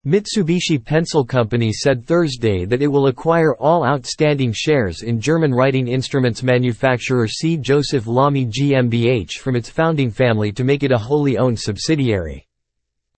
Mitsubishi Pencil Company said Thursday that it will acquire all outstanding shares in German writing instruments manufacturer C. Joseph Lamy GmbH from its founding family to make it a wholly owned subsidiary.